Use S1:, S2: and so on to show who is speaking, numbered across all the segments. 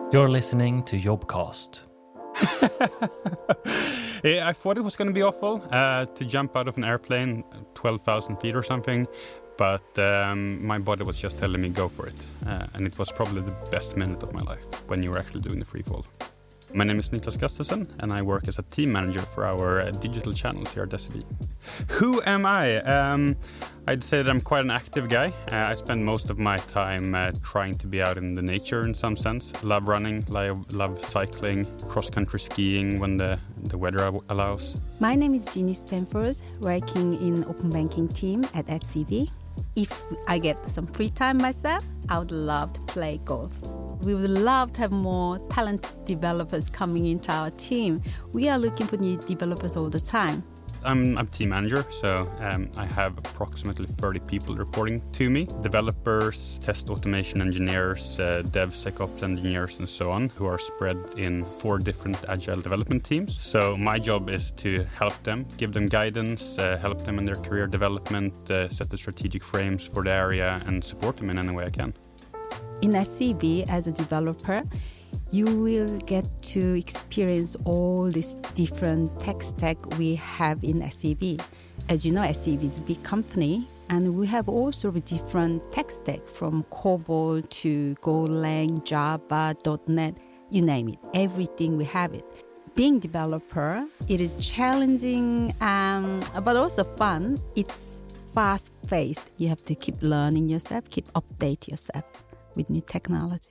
S1: You're listening to Jobcast.
S2: I thought it was going to be awful to jump out of an airplane 12,000 feet or something, but my body was just telling me go for it. And it was probably the best minute of my life when you were actually doing the free fall. My name is Niklas Gustafsson, and I work as a team manager for our digital channels here at SEB. Who am I? I'd say that I'm quite an active guy. I spend most of my time trying to be out in the nature in some sense. Love running, love cycling, cross-country skiing when the weather allows.
S3: My name is Jeannie Stanford, working in open banking team at SEB. If I get some free time myself, I would love to play golf. We would love to have more talented developers coming into our team. We are looking for new developers all the time.
S2: I'm a team manager, so I have approximately 30 people reporting to me. Developers, test automation engineers, DevSecOps engineers, and so on, who are spread in 4 different agile development teams. So my job is to help them, give them guidance, help them in their career development, set the strategic frames for the area, and support them in any way I can.
S3: In SEB, as a developer, you will get to experience all these different tech stack we have in SEB. As you know, SEB is a big company, and we have all sort of different tech stack from COBOL to Golang, Java, .NET, you name it. Everything we have it. Being developer, it is challenging, but also fun. It's fast-paced. You have to keep learning yourself, keep update yourself with new technology.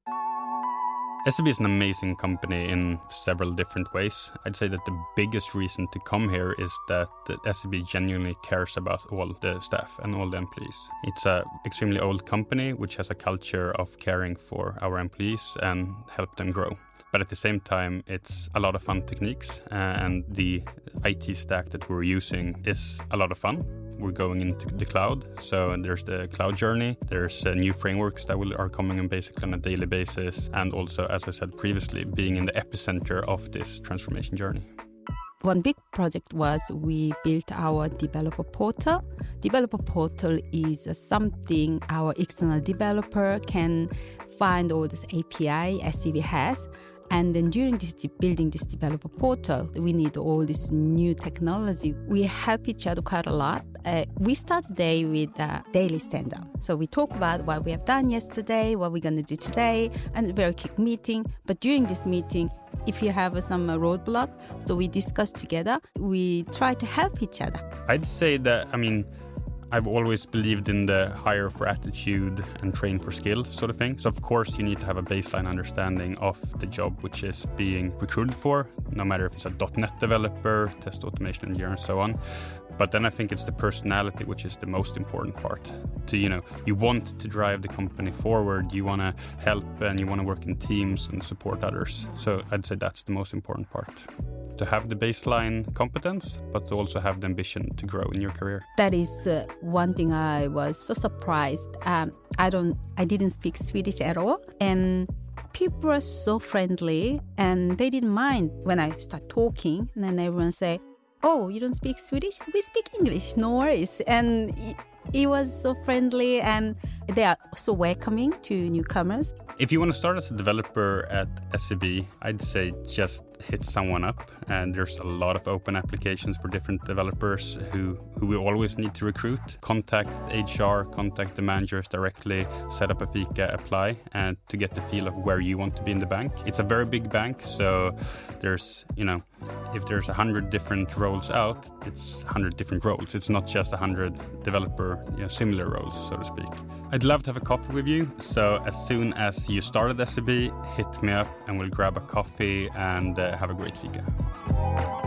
S2: SEB is an amazing company in several different ways. I'd say that the biggest reason to come here is that SEB genuinely cares about all the staff and all the employees. It's an extremely old company which has a culture of caring for our employees and help them grow. But at the same time, it's a lot of fun techniques, and the IT stack that we're using is a lot of fun. We're going into the cloud, so there's the cloud journey. There's new frameworks that are coming in basically on a daily basis, and also, as I said previously, being in the epicenter of this transformation journey.
S3: One big project was we built our developer portal. Developer portal is something our external developer can find all this API SEB has. And then during building this developer portal, we need all this new technology. We help each other quite a lot. We start the day with a daily stand-up. So we talk about what we have done yesterday, what we're going to do today, and a very quick meeting. But during this meeting, if you have some roadblock, so we discuss together, we try to help each other.
S2: I'd say that, I've always believed in the hire for attitude and train for skill sort of thing. So of course you need to have a baseline understanding of the job which is being recruited for, no matter if it's a .NET developer, test automation engineer and so on. But then I think it's the personality which is the most important part. You want to drive the company forward, you want to help and you want to work in teams and support others. So I'd say that's the most important part. To have the baseline competence, but to also have the ambition to grow in your career.
S3: That is one thing I was so surprised. I didn't speak Swedish at all, and people were so friendly, and they didn't mind when I start talking, and then everyone say, "Oh, you don't speak Swedish? We speak English, no worries." And it was so friendly, and they are so welcoming to newcomers.
S2: If you want to start as a developer at SEB, I'd say just hit someone up. And there's a lot of open applications for different developers who we always need to recruit. Contact HR, contact the managers directly, set up a fika, apply, and to get the feel of where you want to be in the bank. It's a very big bank, so there's, if there's 100 different roles out, it's 100 different roles. It's not just 100 developer, similar roles, so to speak. I'd love to have a coffee with you. So as soon as you start at SEB, hit me up and we'll grab a coffee and have a great fika.